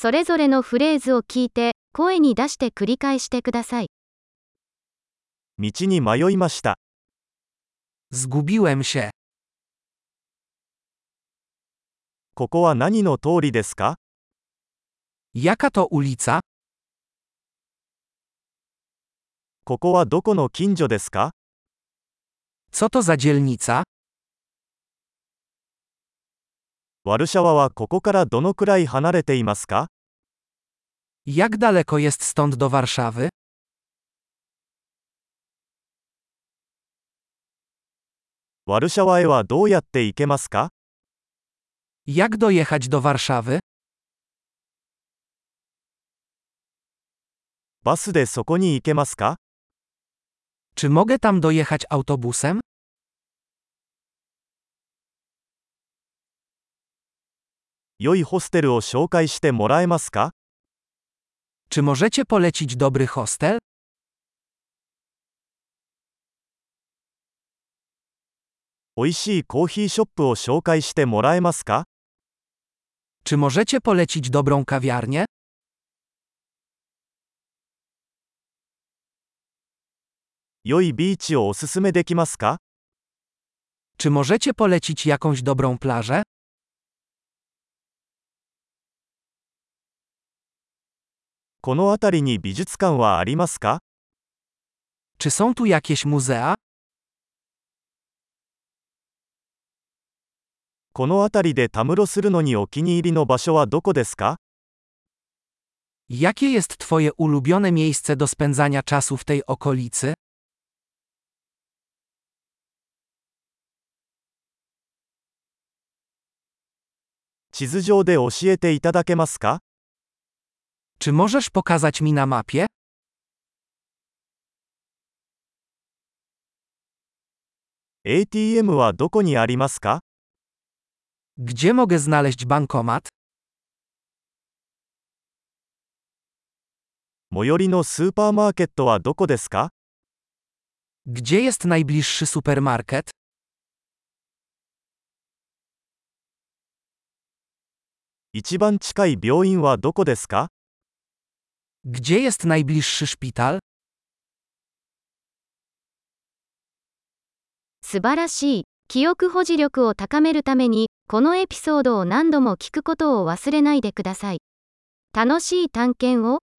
それぞれのフレーズを聞いて、声に出して繰り返してください。 道に迷いました。 Zgubiłem się. ここは何の通りですか？ Jaka to ulica? ここはどこの近所ですか？ Co to za dzielnica? ワルシャワはここからどのくらい離れていますか？ Jak daleko jest stąd do Warszawy? ワルシャワへはどうやって行けますか？ Jak dojechać do Warszawy? バスでそこに行けますか？ Czy mogę tam dojechać autobusem? 良いホステルを紹介してもらえますか？ Czy możecie polecić dobry hostel? 美味しいコーヒーショップを紹介してもらえますか？ Czy możecie polecić dobrą kawiarnię? 良いビーチをおすすめできますか？ Czy możecie polecić jakąś dobrą plażę? この辺りに美術館はありますか？ Czy są tu jakieś muzea? この辺りでたむろするのにお気に入りの場所はどこですか？ Jakie jest twoje ulubione miejsce do spędzania czasu w tej okolicy? 地図上で教えていただけますか？ Czy możesz pokazać mi na mapie? ATM はどこにありますか？ Gdzie mogę znaleźć bankomat? 最寄りのスーパーマーケットはどこですか？ Gdzie jest najbliższy supermarket? 一番近い病院はどこですか？ Gdzie jest najbliższy szpital? 素晴らしい。記憶保持力を高めるために、このエピソードを何度も聞くことを忘れないでください。楽しい探検を。